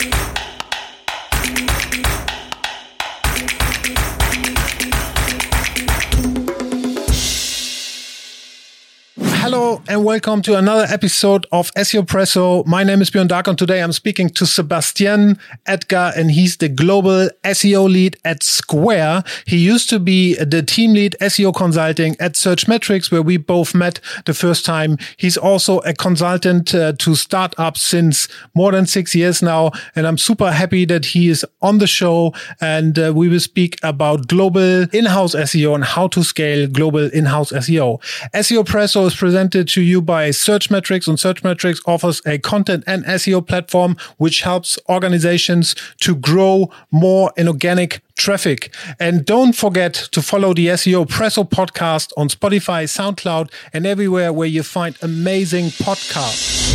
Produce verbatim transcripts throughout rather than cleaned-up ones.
Hello and welcome to another episode of S E O Presso. My name is Björn Dark and today I'm speaking to Sebastian Edgar and he's the global S E O lead at Square. He used to be the team lead S E O consulting at Searchmetrics where we both met the first time. He's also a consultant uh, to startups since more than six years now and I'm super happy that he is on the show and uh, we will speak about global in-house S E O and how to scale global in-house S E O. S E O Presso is presented to you by Searchmetrics, and Searchmetrics offers a content and S E O platform which helps organizations to grow more in organic traffic. And don't forget to follow the S E O Presso podcast on Spotify, SoundCloud, and everywhere where you find amazing podcasts.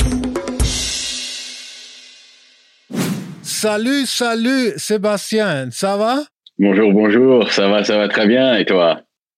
Salut, salut, Sébastien. Ça va? Bonjour, bonjour. Ça va, ça va très bien. Et toi?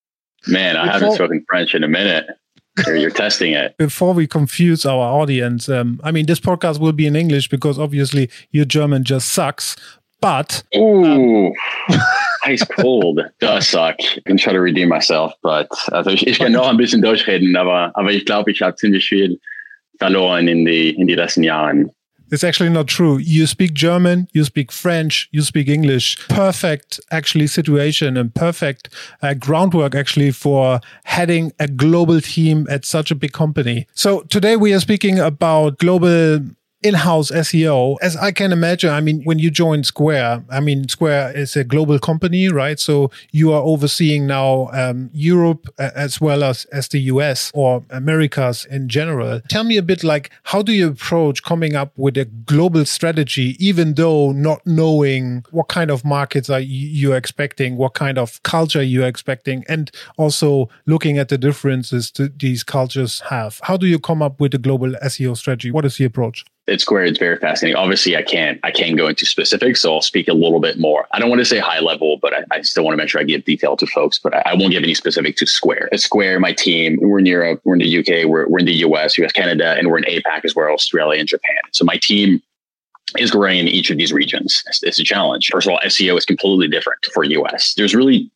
Man, I haven't spoken French in a minute. You're, you're testing it. Before we confuse our audience, um, I mean, this podcast will be in English because obviously your German just sucks. But ooh, um, ice cold does suck. I can try to redeem myself, but also ich, ich kann noch ein bisschen Deutsch reden, aber aber ich glaube, ich habe ziemlich viel verloren in die in die letzten Jahren. It's actually not true. You speak German, you speak French, you speak English. Perfect, actually, situation and perfect uh, groundwork, actually, for heading a global team at such a big company. So today we are speaking about global in-house S E O. As I can imagine, I mean, when you join Square, I mean, Square is a global company, right? So you are overseeing now um, Europe uh, as well as, as the U S or Americas in general. Tell me a bit like, how do you approach coming up with a global strategy, even though not knowing what kind of markets are you expecting, what kind of culture you're expecting, and also looking at the differences that these cultures have? How do you come up with a global S E O strategy? What is the approach? At Square, it's very fascinating. Obviously, I can't I can't go into specifics, so I'll speak a little bit more. I don't want to say high level, but I, I still want to make sure I give detail to folks, but I, I won't give any specific to Square. At Square, my team, we're in Europe, we're in the U K, we're, we're in the U S, U S, Canada, and we're in APAC as well, Australia and Japan. So my team is growing in each of these regions. It's, it's a challenge. First of all, S E O is completely different for U S. There's really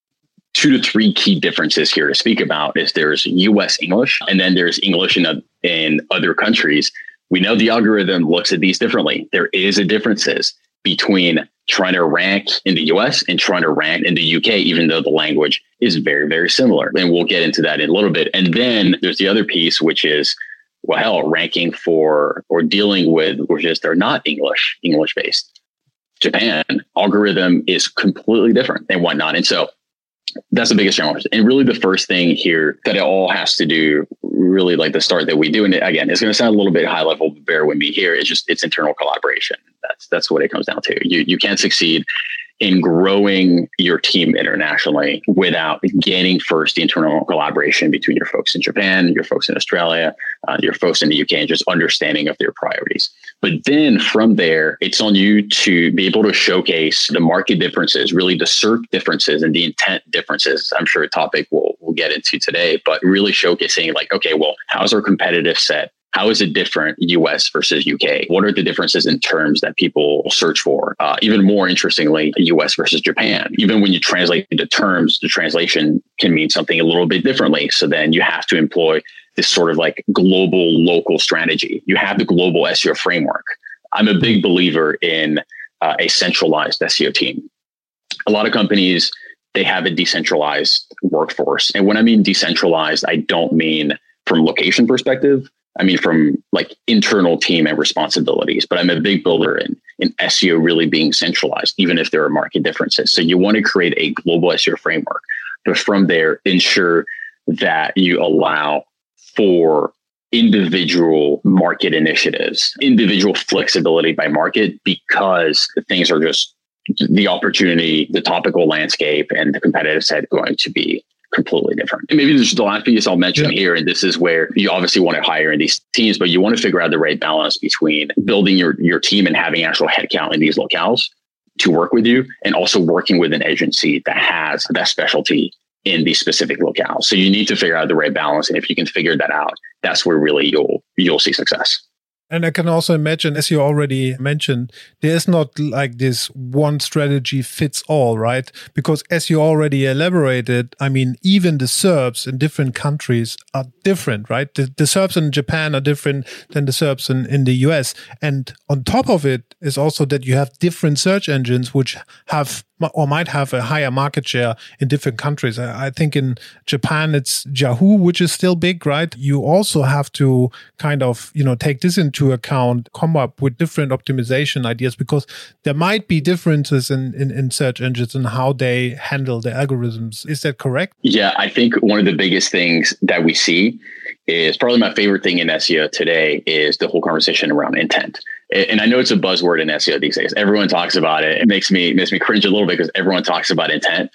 two to three key differences here to speak about. Is there's U S English, and then there's English in, a, in other countries. We know the algorithm looks at these differently. There is a differences between trying to rank in the U S and trying to rank in the U K, even though the language is very, very similar. And we'll get into that in a little bit. And then there's the other piece, which is, well, hell, ranking for or dealing with, which is they're not English, English based. Japan algorithm is completely different and whatnot. And so that's the biggest challenge. And really the first thing here that it all has to do, really like the start that we do. And again, it's going to sound a little bit high level, but bear with me here. It's just, it's internal collaboration. That's, that's what it comes down to. You, you can't succeed in growing your team internationally without gaining first the internal collaboration between your folks in Japan, your folks in Australia, uh, your folks in the U K, and just understanding of their priorities. But then from there, it's on you to be able to showcase the market differences, really the search differences and the intent differences. I'm sure a topic we'll, we'll get into today, but really showcasing like, okay, well, how's our competitive set? How is it different U S versus U K? What are the differences in terms that people search for? Uh, even more interestingly, U S versus Japan. Even when you translate the terms, the translation can mean something a little bit differently. So then you have to employ this sort of like global local strategy. You have the global S E O framework. I'm a big believer in uh, a centralized S E O team. A lot of companies, they have a decentralized workforce. And when I mean decentralized, I don't mean from location perspective. I mean, from like internal team and responsibilities, but I'm a big believer in, in S E O really being centralized, even if there are market differences. So you want to create a global S E O framework, but from there, ensure that you allow for individual market initiatives, individual flexibility by market, because things are just the opportunity, the topical landscape, and the competitive set going to be completely different. And maybe this is the last piece I'll mention yeah. here. And this is where you obviously want to hire in these teams, but you want to figure out the right balance between building your, your team and having actual headcount in these locales to work with you, and also working with an agency that has that specialty in these specific locales. So you need to figure out the right balance. And if you can figure that out, that's where really you'll, you'll see success. And I can also imagine, as you already mentioned, there is not like this one strategy fits all, right? Because as you already elaborated, I mean, even the S E R Ps in different countries are different, right? The, the S E R Ps in Japan are different than the S E R Ps in, in the U S. And on top of it is also that you have different search engines which have or might have a higher market share in different countries. I think in Japan, it's Yahoo, which is still big, right? You also have to kind of, you know, take this into account, come up with different optimization ideas, because there might be differences in, in, in search engines and how they handle the algorithms. Is that correct? Yeah, I think one of the biggest things that we see is probably my favorite thing in S E O today is the whole conversation around intent. And I know it's a buzzword in S E O these days. Everyone talks about it. It makes me makes me cringe a little bit because everyone talks about intent.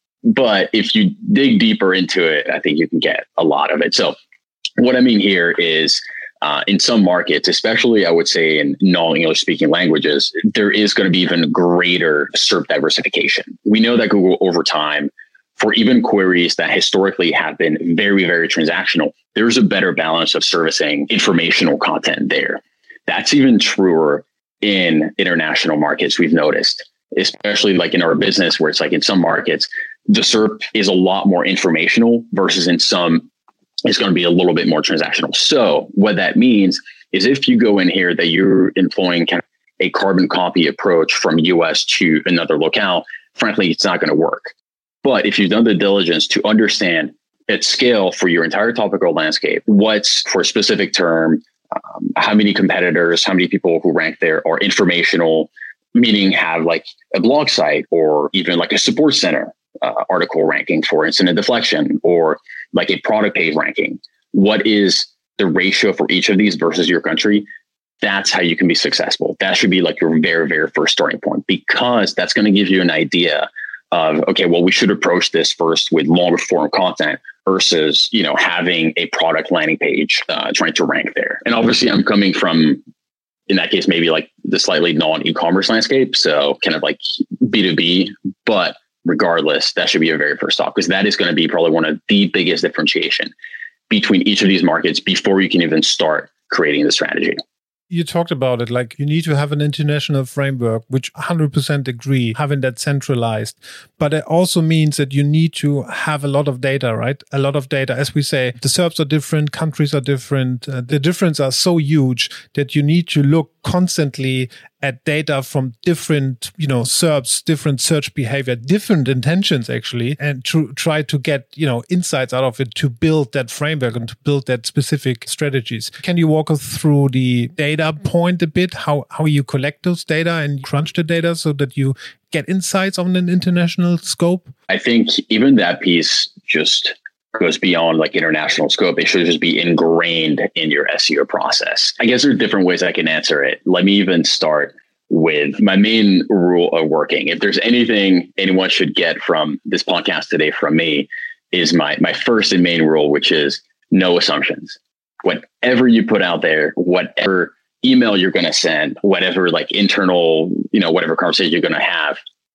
But if you dig deeper into it, I think you can get a lot of it. So what I mean here is uh, in some markets, especially I would say in non-English speaking languages, there is going to be even greater S E R P diversification. We know that Google over time, for even queries that historically have been very, very transactional, there's a better balance of servicing informational content there. That's even truer in international markets, we've noticed, especially like in our business where it's like in some markets, the S E R P is a lot more informational versus in some, it's going to be a little bit more transactional. So what that means is if you go in here that you're employing kind of a carbon copy approach from U S to another locale, frankly, it's not going to work. But if you've done the diligence to understand at scale for your entire topical landscape, what's for a specific term, Um, how many competitors, how many people who rank there are informational, meaning have like a blog site or even like a support center uh, article ranking for incident deflection or like a product page ranking. What is the ratio for each of these versus your country? That's how you can be successful. That should be like your very, very first starting point, because that's going to give you an idea of, okay, well, we should approach this first with longer form content versus, you know, having a product landing page uh, trying to rank there. And obviously I'm coming from, in that case, maybe like the slightly non-e-commerce landscape. So kind of like B two B, but regardless, that should be your very first stop, because that is going to be probably one of the biggest differentiation between each of these markets before you can even start creating the strategy. You talked about it, like you need to have an international framework, which one hundred percent agree, having that centralized. But it also means that you need to have a lot of data, right? A lot of data. As we say, the S E R Ps are different, countries are different. Uh, the differences are so huge that you need to look constantly at data from different, you know, S E R Ps, different search behavior, different intentions actually, and to try to get, you know, insights out of it to build that framework and to build that specific strategies. Can you walk us through the data point a bit, how, how you collect those data and crunch the data so that you get insights on an international scope? I think even that piece just goes beyond like international scope. It should just be ingrained in your S E O process. I guess there are different ways I can answer it. Let me even start with my main rule of working. If there's anything anyone should get from this podcast today from me, is my my first and main rule, which is no assumptions. Whatever you put out there, whatever email you're going to send, whatever like internal, you know, whatever conversation you're going to have,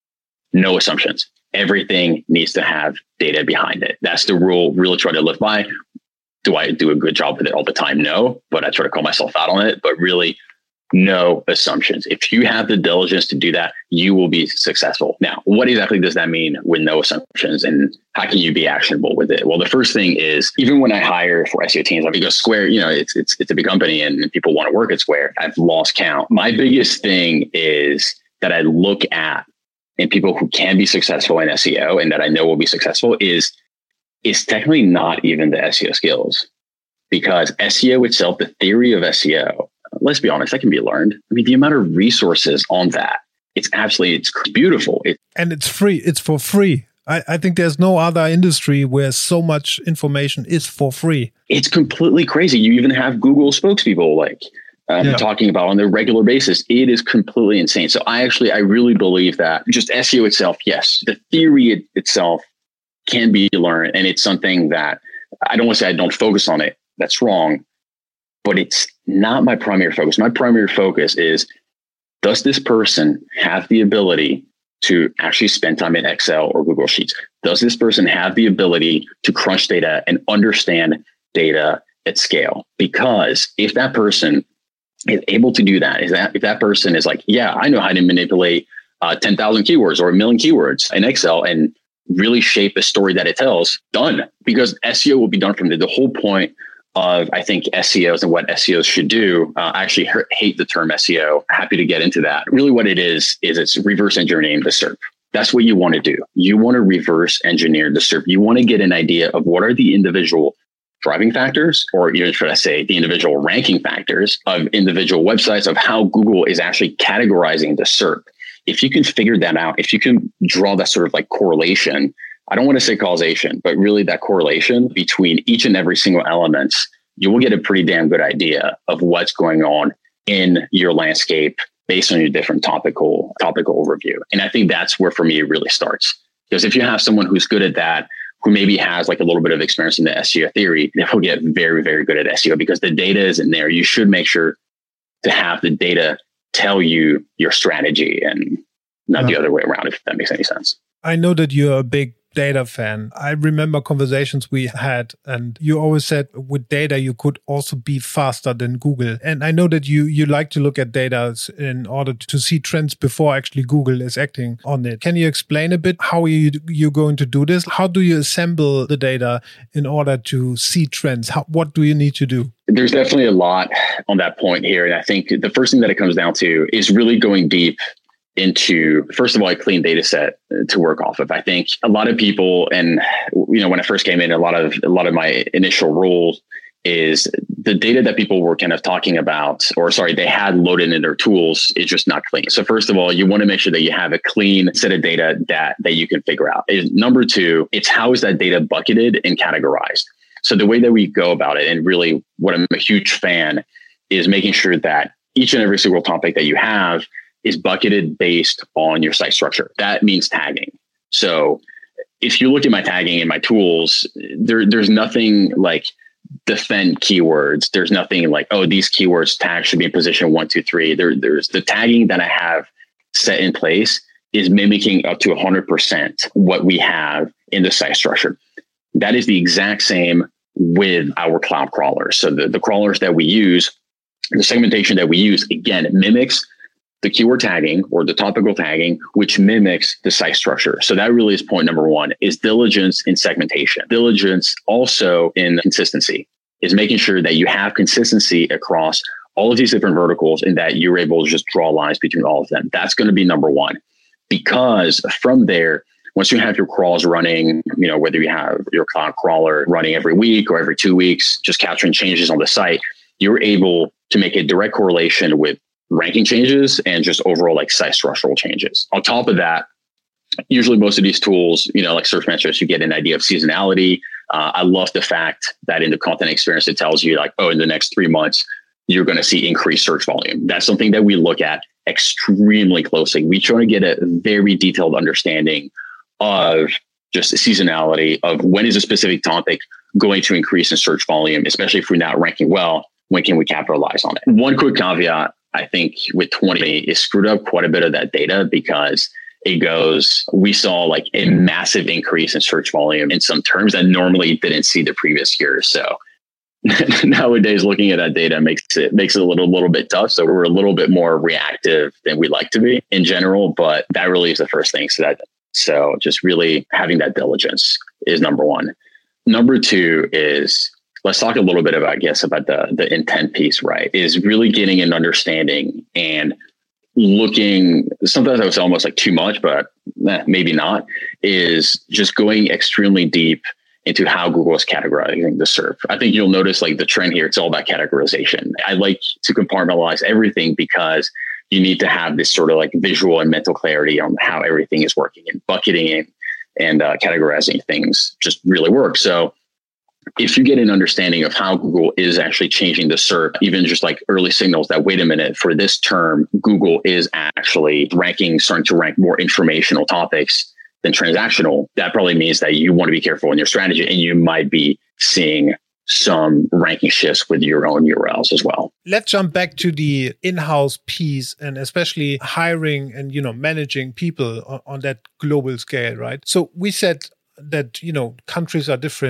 no assumptions. Everything needs to have data behind it. That's the rule. Really try to live by. Do I do a good job with it all the time? No, but I try to call myself out on it. But really, no assumptions. If you have the diligence to do that, you will be successful. Now, what exactly does that mean with no assumptions, and how can you be actionable with it? Well, the first thing is, even when I hire for S E O teams, like because Square, you know, it's it's it's a big company and people want to work at Square. I've lost count. My biggest thing is that I look at, and people who can be successful in S E O and that I know will be successful is, is technically not even the S E O skills, because S E O itself, the theory of S E O, let's be honest, that can be learned. I mean, the amount of resources on that, it's absolutely, it's beautiful. It, and it's free. It's for free. I, I think there's no other industry where so much information is for free. It's completely crazy. You even have Google spokespeople like Um, yeah. talking about on a regular basis. It is completely insane. So I actually, I really believe that just S E O itself, yes, the theory it, itself can be learned. And it's something that I don't want to say I don't focus on it. That's wrong. But it's not my primary focus. My primary focus is, does this person have the ability to actually spend time in Excel or Google Sheets? Does this person have the ability to crunch data and understand data at scale? Because if that person is able to do that, is that if that person is like, yeah, I know how to manipulate uh, ten thousand keywords or a million keywords in Excel and really shape a story that it tells, done. Because S E O will be done from there. The whole point of, I think, S E Os and what S E Os should do, uh, I actually hate the term S E O. Happy to get into that. Really what it is, is it's reverse engineering the S E R P. That's what you want to do. You want to reverse engineer the S E R P. You want to get an idea of what are the individual driving factors, or even should I say the individual ranking factors of individual websites, of how Google is actually categorizing the S E R P. If you can figure that out, if you can draw that sort of like correlation, I don't want to say causation, but really that correlation between each and every single element, you will get a pretty damn good idea of what's going on in your landscape based on your different topical topical overview. And I think that's where, for me, it really starts. Because if you have someone who's good at that, who maybe has like a little bit of experience in the S E O theory, they will get very, very good at S E O because the data isn't there. You should make sure to have the data tell you your strategy and not yeah. the other way around, if that makes any sense. I know that you're a big data fan. I remember conversations we had, and you always said with data, you could also be faster than Google. And I know that you you like to look at data in order to see trends before actually Google is acting on it. Can you explain a bit how you, you're going to do this? How do you assemble the data in order to see trends? How, what do you need to do? There's definitely a lot on that point here. And I think the first thing that it comes down to is really going deep into, first of all, a clean data set to work off of. I think a lot of people, and you know, when I first came in, a lot of a lot of my initial rules is the data that people were kind of talking about, or sorry, they had loaded in their tools is just not clean. So first of all, you want to make sure that you have a clean set of data that that you can figure out. Is number two, it's how is that data bucketed and categorized. So the way that we go about it, and really what I'm a huge fan, is making sure that each and every single topic that you have is bucketed based on your site structure. That means tagging. So if you look at my tagging in my tools, there, there's nothing like defend keywords. There's nothing like, oh, these keywords tag should be in position one, two, three. There, there's the tagging that I have set in place is mimicking up to one hundred percent what we have in the site structure. That is the exact same with our cloud crawlers. So the, the crawlers that we use, the segmentation that we use, again, mimics the keyword tagging or the topical tagging, which mimics the site structure. So that really is point number one, is diligence in segmentation. Diligence also in consistency, is making sure that you have consistency across all of these different verticals and that you're able to just draw lines between all of them. That's going to be number one, because from there, once you have your crawls running, you know, whether you have your cloud crawler running every week or every two weeks, just capturing changes on the site, you're able to make a direct correlation with ranking changes and just overall like site structural changes. On top of that, usually most of these tools, you know, like Search Metrics, you get an idea of seasonality. Uh, I love the fact that in the content experience, it tells you like, oh, in the next three months, you're going to see increased search volume. That's something that we look at extremely closely. We try to get a very detailed understanding of just seasonality of when is a specific topic going to increase in search volume, especially if we're not ranking well, when can we capitalize on it? One quick caveat, I think with twenty, it screwed up quite a bit of that data because it goes, we saw like a massive increase in search volume in some terms that normally didn't see the previous year. So nowadays, looking at that data makes it makes it a little little bit tough. So we're a little bit more reactive than we like to be in general, but that really is the first thing. So that so just really having that diligence is number one. Number two is, let's talk a little bit about, I guess, about the the intent piece, right? Is really getting an understanding and looking, sometimes I was almost like too much, but eh, maybe not, is just going extremely deep into how Google is categorizing the S E R P. I think you'll notice like the trend here, it's all about categorization. I like to compartmentalize everything because you need to have this sort of like visual and mental clarity on how everything is working, and bucketing and, and uh, categorizing things just really work. So if you get an understanding of how Google is actually changing the S E R P, even just like early signals that, wait a minute, for this term, Google is actually ranking, starting to rank more informational topics than transactional, that probably means that you want to be careful in your strategy, and you might be seeing some ranking shifts with your own U R Ls as well. Let's jump back to the in-house piece, and especially hiring and, you know, managing people on, on that global scale, right? So we said that, you know, countries are different.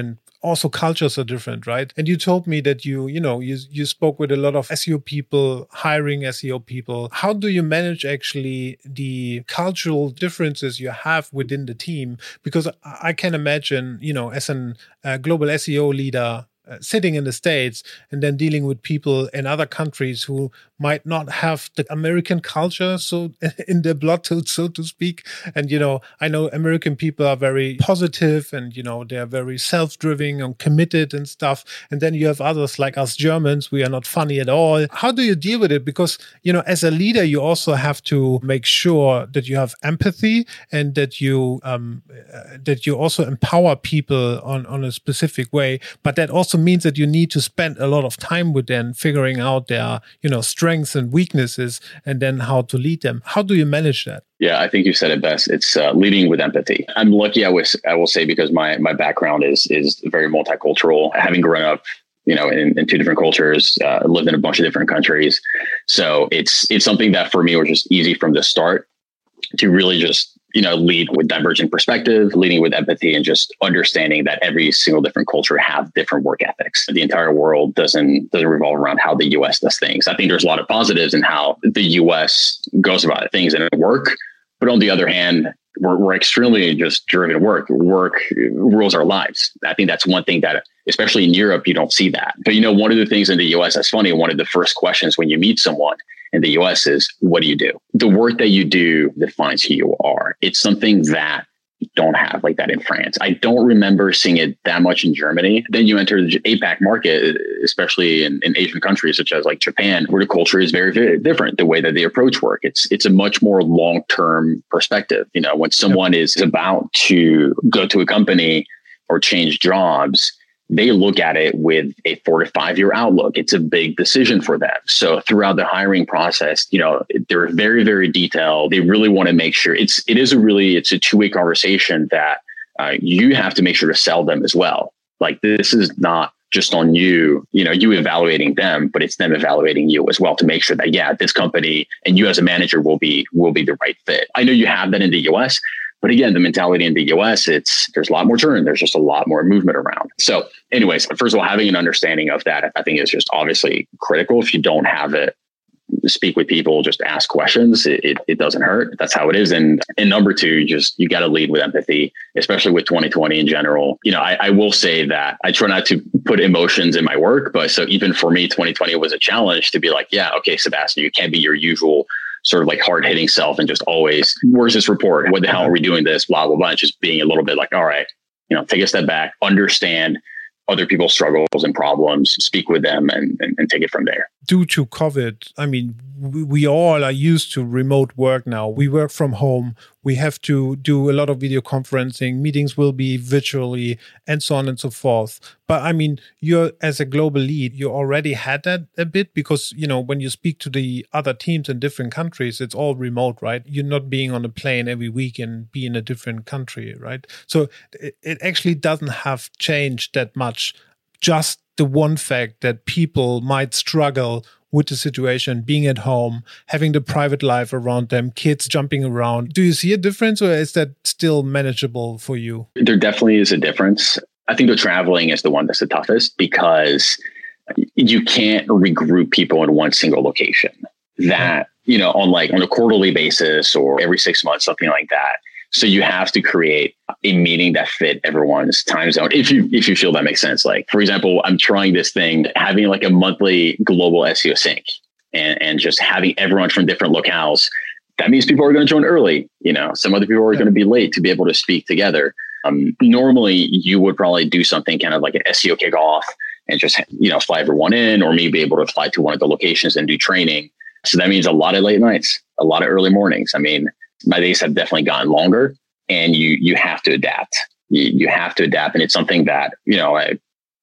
also cultures are different, right? And you told me that you, you know, you, you spoke with a lot of S E O people, hiring S E O people. How do you manage actually the cultural differences you have within the team? Because I can imagine, you know, as a uh, global S E O leader, Uh, sitting in the States and then dealing with people in other countries who might not have the American culture so in their blood, to, so to speak. And, you know, I know American people are very positive and, you know, they're very self-driven and committed and stuff. And then you have others like us Germans, we are not funny at all. How do you deal with it? Because, you know, as a leader, you also have to make sure that you have empathy and that you, um, uh, that you also empower people on, on a specific way. But that also means that you need to spend a lot of time with them, figuring out their, you know, strengths and weaknesses, and then how to lead them. How do you manage that? Yeah, I think you said it best. It's uh, leading with empathy. I'm lucky, I was, I will say, because my my background is is very multicultural. Having grown up, you know, in, in two different cultures, uh, lived in a bunch of different countries, so it's it's something that for me was just easy from the start to really just, you know, lead with divergent perspective, leading with empathy, and just understanding that every single different culture have different work ethics. The entire world doesn't doesn't revolve around how the U S does things. I think there's a lot of positives in how the U S goes about things and work, but on the other hand, we're, we're extremely just driven work. Work rules our lives. I think that's one thing that, especially in Europe, you don't see that. But, you know, one of the things in the U S that's funny, one of the first questions when you meet someone in the U S is, what do you do? The work that you do defines who you are. It's something that you don't have like that in France. I don't remember seeing it that much in Germany. Then you enter the APAC market, especially in, in Asian countries such as like Japan, where the culture is very, very different. The way that they approach work, it's it's a much more long-term perspective. You know, when someone is about to go to a company or change jobs, they look at it with a four to five year outlook. It's a big decision for them. So throughout the hiring process, you know, they're very, very detailed. They really want to make sure it's, it is a really, it's a two way conversation that uh, you have to make sure to sell them as well. Like, this is not just on you, you know, you evaluating them, but it's them evaluating you as well to make sure that, yeah, this company and you as a manager will be, will be the right fit. I know you have that in the U S, but again, the mentality in the U S, it's there's a lot more turn. There's just a lot more movement around. So anyways, first of all, having an understanding of that, I think is just obviously critical. If you don't have it, speak with people, just ask questions. It, it, it doesn't hurt. That's how it is. And, and number two, just, you got to lead with empathy, especially with twenty twenty in general. You know, I, I will say that I try not to put emotions in my work, but so even for me, twenty twenty was a challenge to be like, yeah, okay, Sebastian, you can't be your usual sort of like hard hitting self and just always, where's this report? What the hell are we doing this? Blah, blah, blah. Just being a little bit like, all right, you know, take a step back, understand other people's struggles and problems, speak with them and, and, and take it from there. Due to COVID, I mean, we, we all are used to remote work now. We work from home. We have to do a lot of video conferencing. Meetings will be virtually and so on and so forth. But I mean, you're as a global lead, you already had that a bit because, you know, when you speak to the other teams in different countries, it's all remote, right? You're not being on a plane every week and be in a different country, right? So it, it actually doesn't have changed that much. Just the one fact that people might struggle with the situation, being at home, having the private life around them, kids jumping around. Do you see a difference, or is that still manageable for you? There definitely is a difference. I think the traveling is the one that's the toughest because you can't regroup people in one single location. That, you know, on like on a quarterly basis or every six months, something like that. So you have to create a meeting that fit everyone's time zone. If you if you feel that makes sense. Like, for example, I'm trying this thing, having like a monthly global S E O sync and, and just having everyone from different locales. That means people are going to join early. You know, some other people are yeah. going to be late to be able to speak together. Um, normally, you would probably do something kind of like an S E O kickoff and just, you know, fly everyone in, or maybe able to fly to one of the locations and do training. So that means a lot of late nights, a lot of early mornings. I mean, my days have definitely gotten longer, and you you have to adapt. You, you have to adapt, and it's something that, you know, I,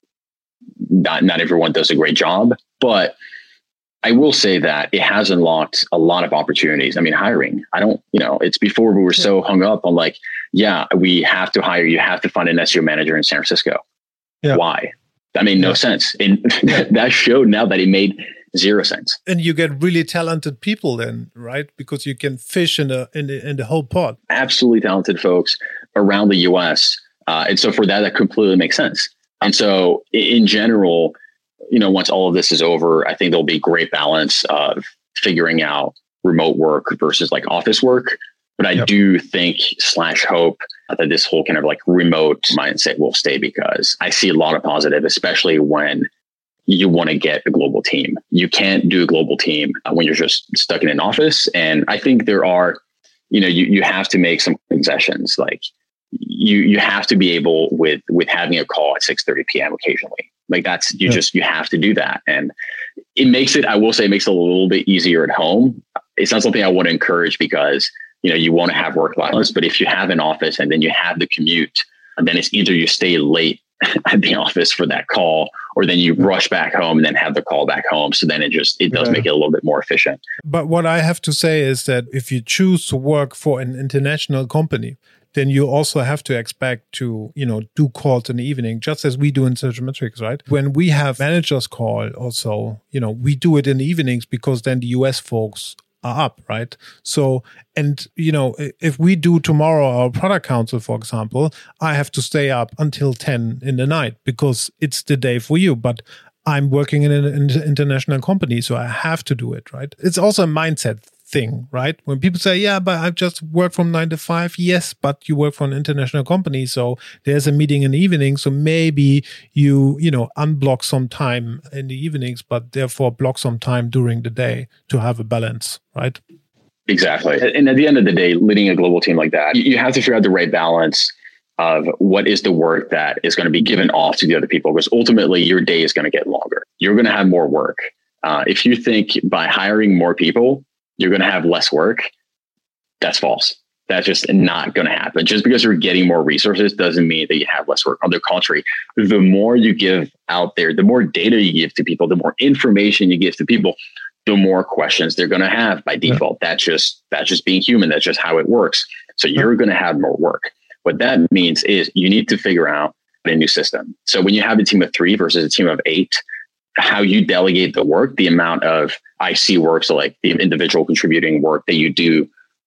not not everyone does a great job, but I will say that it has unlocked a lot of opportunities. I mean, hiring. I don't, you know, it's before we were so hung up on like, yeah, we have to hire. You have to find an S E O manager in San Francisco. Yeah. Why? That made no yeah. sense, and that showed now that it made zero sense. And you get really talented people then, right? Because you can fish in the in the, in the whole pot. Absolutely talented folks around the U S. Uh, and so for that, that completely makes sense. And so in general, you know, once all of this is over, I think there'll be great balance of figuring out remote work versus like office work. But I yep. do think slash hope that this whole kind of like remote mindset will stay, because I see a lot of positive, especially when you want to get a global team. You can't do a global team when you're just stuck in an office. And I think there are, you know, you, you have to make some concessions. Like you, you have to be able with, with having a call at six thirty p.m. occasionally. Like that's, you yeah. just, you have to do that. And it makes it, I will say it makes it a little bit easier at home. It's not something I want to encourage, because, you know, you want to have work balance, but if you have an office and then you have the commute, and then it's either you stay late at the office for that call, or then you rush back home and then have the call back home. So then it just, it does yeah. make it a little bit more efficient. But what I have to say is that if you choose to work for an international company, then you also have to expect to, you know, do calls in the evening, just as we do in Searchmetrics, right? When we have managers call also, you know, we do it in the evenings because then the U S folks are up, right? So, and, you know, if we do tomorrow our product council, for example, I have to stay up until ten in the night because it's the day for you. But I'm working in an international company, so I have to do it, right? It's also a mindset thing, right? When people say, yeah, but I just work from nine to five. Yes, but you work for an international company. So there's a meeting in the evening. So maybe you, you know, unblock some time in the evenings, but therefore block some time during the day to have a balance, right? Exactly. And at the end of the day, leading a global team like that, you have to figure out the right balance of what is the work that is going to be given off to the other people, because ultimately your day is going to get longer. You're going to have more work. Uh, if you think by hiring more people, you're going to have less work, that's false. That's just not going to happen. Just because you're getting more resources doesn't mean that you have less work. On the contrary, the more you give out there, the more data you give to people, the more information you give to people, the more questions they're going to have by default. Yeah. That's just, that's just being human. That's just how it works. So you're going to have more work. What that means is you need to figure out a new system. So when you have a team of three versus a team of eight, how you delegate the work, the amount of I C work, so like the individual contributing work that you do,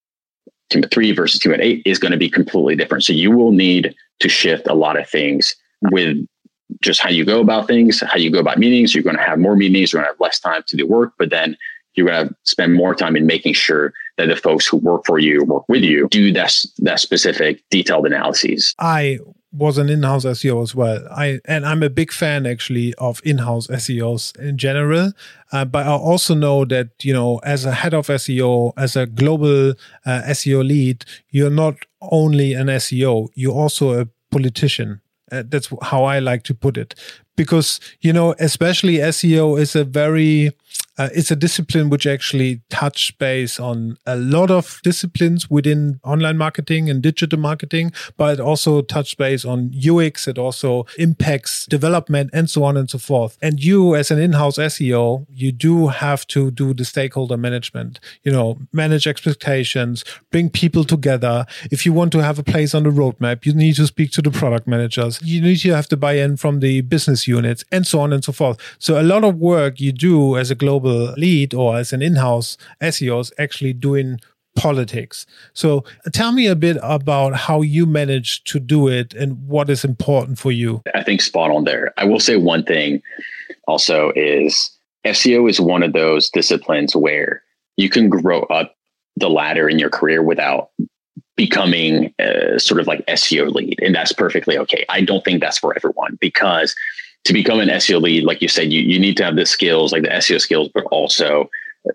team of three versus team of eight is going to be completely different. So you will need to shift a lot of things with just how you go about things, how you go about meetings. You're going to have more meetings, you're going to have less time to do work, but then you're going to spend more time in making sure that the folks who work for you, work with you, do that, that specific detailed analyses. I was an in-house S E O as well. I and I'm a big fan actually of in-house S E Os in general. Uh, but I also know that, you know, as a head of S E O, as a global uh, S E O lead, you're not only an S E O, you're also a politician. Uh, that's how I like to put it. Because, you know, especially S E O is a very, uh, it's a discipline which actually touch base on a lot of disciplines within online marketing and digital marketing, but it also touch base on U X. It also impacts development and so on and so forth. And you as an in-house S E O, you do have to do the stakeholder management, you know, manage expectations, bring people together. If you want to have a place on the roadmap, you need to speak to the product managers. You need to have the buy-in from the business units and so on and so forth. So a lot of work you do as a global lead or as an in-house S E O is actually doing politics. So tell me a bit about how you manage to do it and what is important for you. I think spot on there. I will say one thing also is S E O is one of those disciplines where you can grow up the ladder in your career without becoming a sort of like S E O lead. And that's perfectly okay. I don't think that's for everyone, because to become an S E O lead, like you said, you, you need to have the skills, like the S E O skills, but also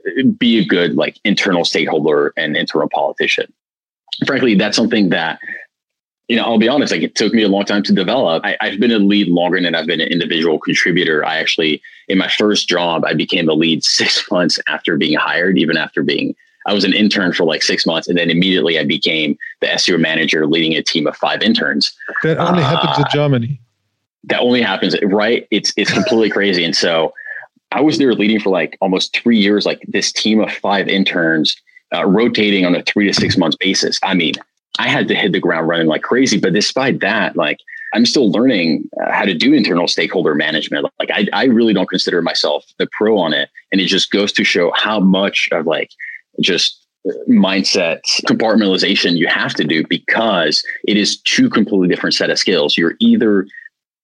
be a good like internal stakeholder and internal politician. Frankly, that's something that, you know, I'll be honest, like it took me a long time to develop. I, I've been a lead longer than I've been an individual contributor. I actually, in my first job, I became a lead six months after being hired, even after being, I was an intern for like six months. And then immediately I became the S E O manager leading a team of five interns. That only uh, happens in Germany. That only happens, right? It's it's completely crazy. And so I was there leading for like almost three years, like this team of five interns uh, rotating on a three to six months basis. I mean, I had to hit the ground running like crazy. But despite that, like I'm still learning uh, how to do internal stakeholder management. Like I, I really don't consider myself the pro on it. And it just goes to show how much of like just mindset compartmentalization you have to do, because it is two completely different set of skills. You're either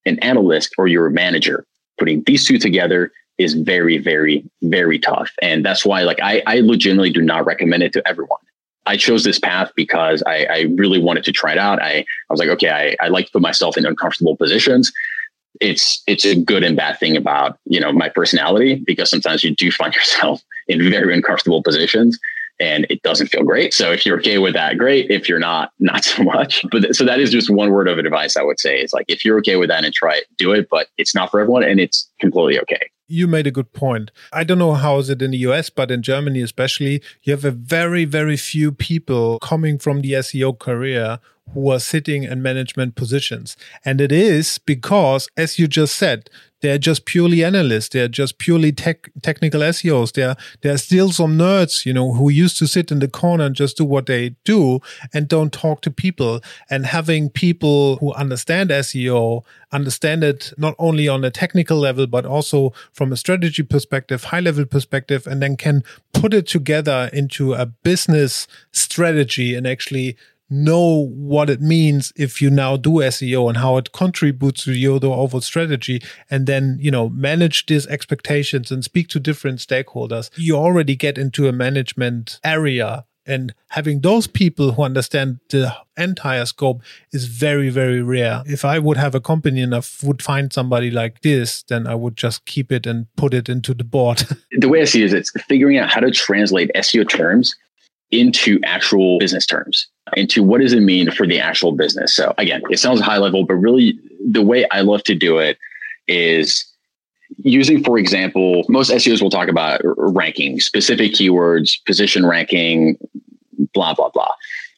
an analyst or you're a manager. Putting these two together is very, very, very tough. And that's why like I, I legitimately do not recommend it to everyone. I chose this path because I, I really wanted to try it out. I, I was like, okay, I, I like to put myself in uncomfortable positions. It's it's a good and bad thing about, you know, my personality, because sometimes you do find yourself in very uncomfortable positions and it doesn't feel great. So if you're okay with that, great. If you're not, not so much. But th- so that is just one word of advice I would say. It's like, if you're okay with that and try it, do it, but it's not for everyone and it's completely okay. You made a good point. I don't know how is it in the U S, but in Germany especially, you have a very, very few people coming from the S E O career who are sitting in management positions. And it is because, as you just said, they're just purely analysts. They're just purely tech, technical S E Os. There, there are still some nerds, you know, who used to sit in the corner and just do what they do and don't talk to people. And having people who understand S E O, understand it not only on a technical level, but also from a strategy perspective, high level perspective, and then can put it together into a business strategy and actually know what it means if you now do S E O and how it contributes to your overall strategy, and then, you know, manage these expectations and speak to different stakeholders. You already get into a management area, and having those people who understand the entire scope is very, very rare. If I would have a company and I would find somebody like this, then I would just keep it and put it into the board. The way I see it is it's figuring out how to translate S E O terms into actual business terms, into what does it mean for the actual business. So again, it sounds high level, but really the way I love to do it is using, for example, most S E Os will talk about ranking, specific keywords, position ranking, blah, blah, blah.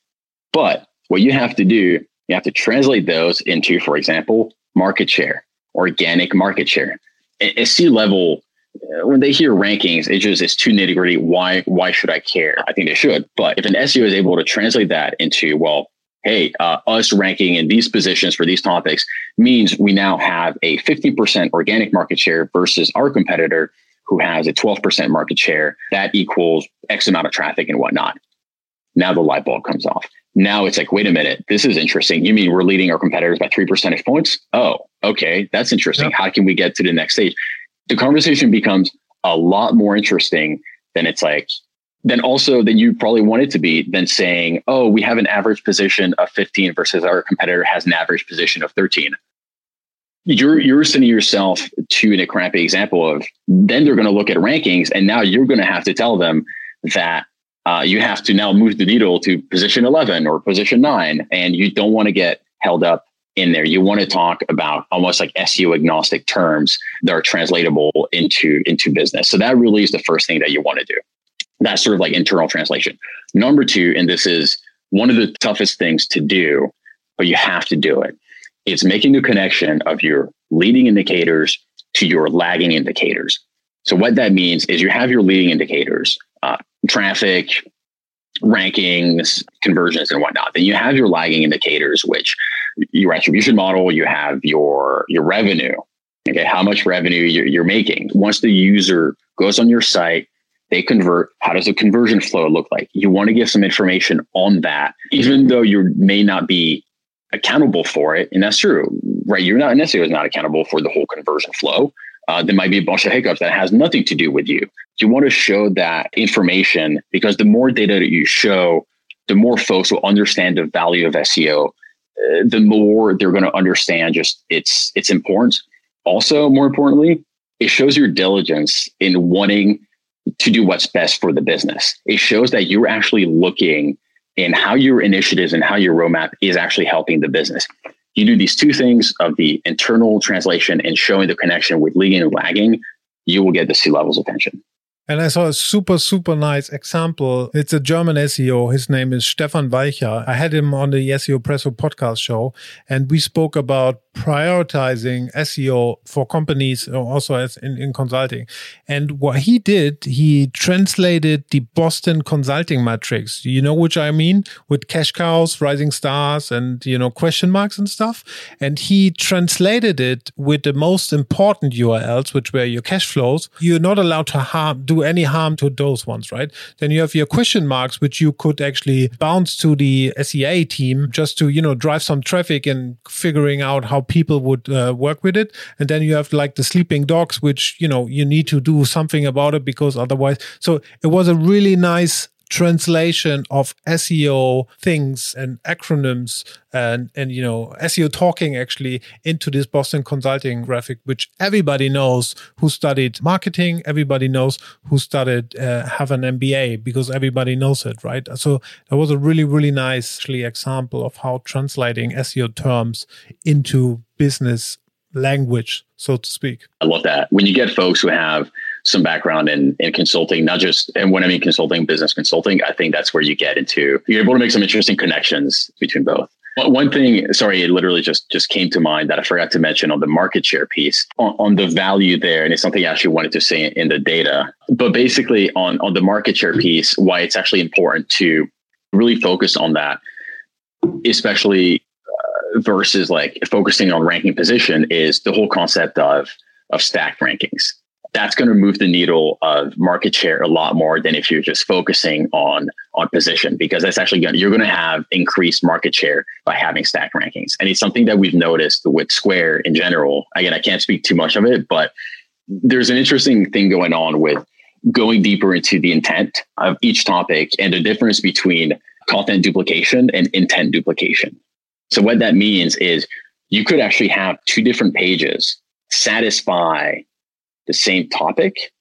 But what you have to do, you have to translate those into, for example, market share, organic market share. At C-level, when they hear rankings, it just it's too nitty gritty. Why why should I care? I think they should. But if an S E O is able to translate that into, well, hey, uh, us ranking in these positions for these topics means we now have a fifty percent organic market share versus our competitor who has a twelve percent market share. That equals X amount of traffic and whatnot. Now the light bulb comes off. Now it's like, wait a minute, this is interesting. You mean we're leading our competitors by three percentage points? Oh, okay, that's interesting. Yep. How can we get to the next stage? The conversation becomes a lot more interesting than it's like, then also than you probably want it to be, than saying, oh, we have an average position of fifteen versus our competitor has an average position of thirteen. You're you're sending yourself to a crappy example of, then they're going to look at rankings and now you're going to have to tell them that uh, you have to now move the needle to position eleven or position nine, and you don't want to get held up in there. You want to talk about almost like S E O agnostic terms that are translatable into, into business. So that really is the first thing that you want to do. That's sort of like internal translation. Number two, and this is one of the toughest things to do, but you have to do it. It's making the connection of your leading indicators to your lagging indicators. So what that means is you have your leading indicators, uh, traffic, rankings, conversions, and whatnot. Then you have your lagging indicators, which your attribution model, you have your, your revenue, okay, how much revenue you're, you're making. Once the user goes on your site, they convert. How does the conversion flow look like? You want to give some information on that, even though you may not be accountable for it. And that's true, right? You're not necessarily not accountable for the whole conversion flow. Uh, there might be a bunch of hiccups that has nothing to do with you. You want to show that information, because the more data that you show, the more folks will understand the value of S E O. Uh, the more they're going to understand just its its importance. Also, more importantly, it shows your diligence in wanting to do what's best for the business. It shows that you're actually looking in how your initiatives and how your roadmap is actually helping the business. You do these two things of the internal translation and showing the connection with leading and lagging, you will get the C-level's attention. And I saw a super, super nice example. It's a German S E O. His name is Stefan Weicher. I had him on the S E O Presso podcast show, and we spoke about prioritizing S E O for companies, also as in, in consulting. And what he did, he translated the Boston consulting metrics. You know which I mean? With cash cows, rising stars, and, you know, question marks and stuff. And he translated it with the most important U R Ls, which were your cash flows. You're not allowed to harm, do do any harm to those ones, right? Then you have your question marks, which you could actually bounce to the S E A team just to, you know, drive some traffic and figuring out how people would uh, work with it. And then you have like the sleeping dogs, which, you know, you need to do something about it because otherwise. So it was a really nice translation of S E O things and acronyms and, and, you know, S E O talking actually into this Boston Consulting graphic, which everybody knows who studied marketing, everybody knows who studied, uh, have an M B A because everybody knows it, right? So that was a really, really nice actually example of how translating S E O terms into business language, so to speak. I love that. When you get folks who have some background in, in consulting, not just, and when I mean consulting, business consulting, I think that's where you get into, you're able to make some interesting connections between both. One thing, sorry, it literally just, just came to mind that I forgot to mention on the market share piece, on, on the value there, and it's something I actually wanted to say in, in the data, but basically on, on the market share piece, why it's actually important to really focus on that, especially uh, versus like focusing on ranking position, is the whole concept of, of stacked rankings. That's going to move the needle of market share a lot more than if you're just focusing on, on position, because that's actually going to, you're going to have increased market share by having stacked rankings. And it's something that we've noticed with Square in general. Again, I can't speak too much of it, but there's an interesting thing going on with going deeper into the intent of each topic and the difference between content duplication and intent duplication. So what that means is you could actually have two different pages satisfy the same topic,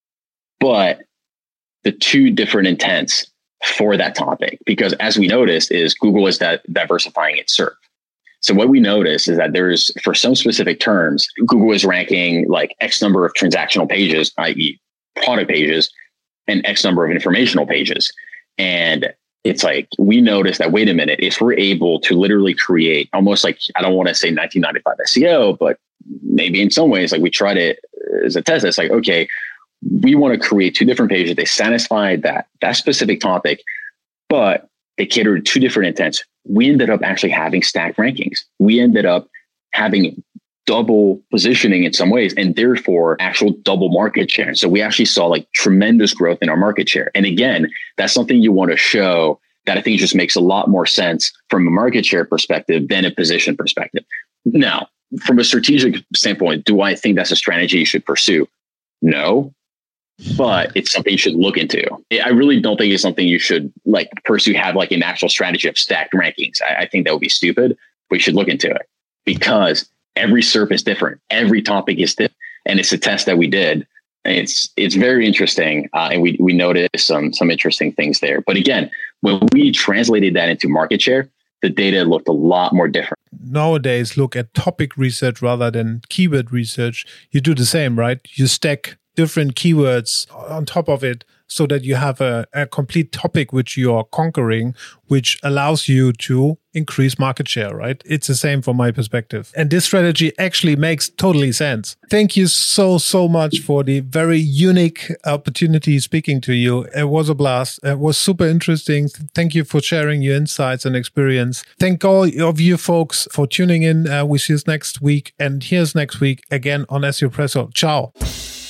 but the two different intents for that topic. Because as we noticed is Google is that diversifying its SERP. So what we notice is that there's, for some specific terms, Google is ranking like X number of transactional pages, that is product pages, and X number of informational pages. And it's like, we notice that, wait a minute, if we're able to literally create almost like, I don't want to say nineteen ninety-five S E O, but maybe in some ways, like we tried it as a test. It's like, okay, we want to create two different pages. They satisfy that, that specific topic, but they cater to two different intents. We ended up actually having stacked rankings. We ended up having double positioning in some ways, and therefore actual double market share. So we actually saw like tremendous growth in our market share. And again, that's something you want to show that I think just makes a lot more sense from a market share perspective than a position perspective. Now, from a strategic standpoint, do I think that's a strategy you should pursue? No, but it's something you should look into. I really don't think it's something you should like pursue, have like an actual strategy of stacked rankings. I, I think that would be stupid, but you should look into it because every SERP is different. Every topic is different. And it's a test that we did. And it's it's very interesting. Uh, and we we noticed some some interesting things there. But again, when we translated that into market share, the data looked a lot more different. Nowadays, look at topic research rather than keyword research. You do the same, right? You stack different keywords on top of it so that you have a, a complete topic which you are conquering, which allows you to increase market share, right? It's the same from my perspective. And this strategy actually makes totally sense. Thank you so, so much for the very unique opportunity speaking to you. It was a blast. It was super interesting. Thank you for sharing your insights and experience. Thank all of you folks for tuning in. Uh, we see you next week. And here's next week again on S E O Presso. Ciao.